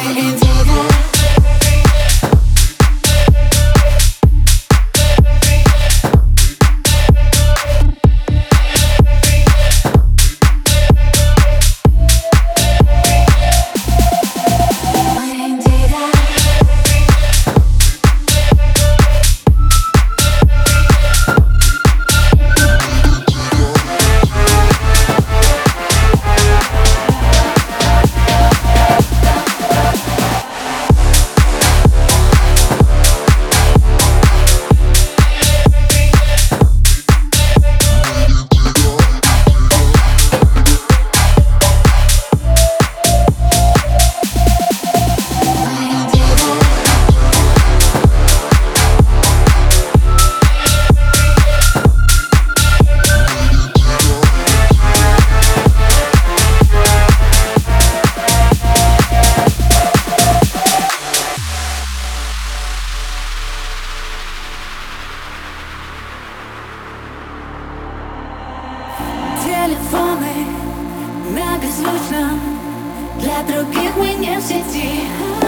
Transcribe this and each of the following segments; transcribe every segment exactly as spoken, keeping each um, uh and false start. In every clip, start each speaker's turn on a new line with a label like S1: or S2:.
S1: Телефоны на беззвучном, для других мы не в сети.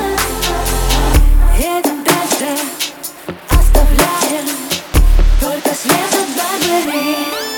S1: Едем дальше, оставляем только след от Барбари.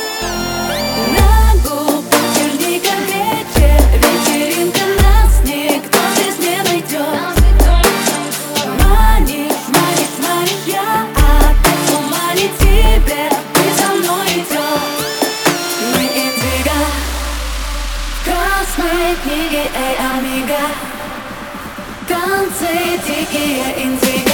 S1: На губах черника вечер, вечеринка, нас никто здесь не найдет. Манишь, манишь, манишь, я опять в тумане тебе, ты за мной идешь. Мы индиго, в красной книге, эй, амиго, танцы дикие индиго.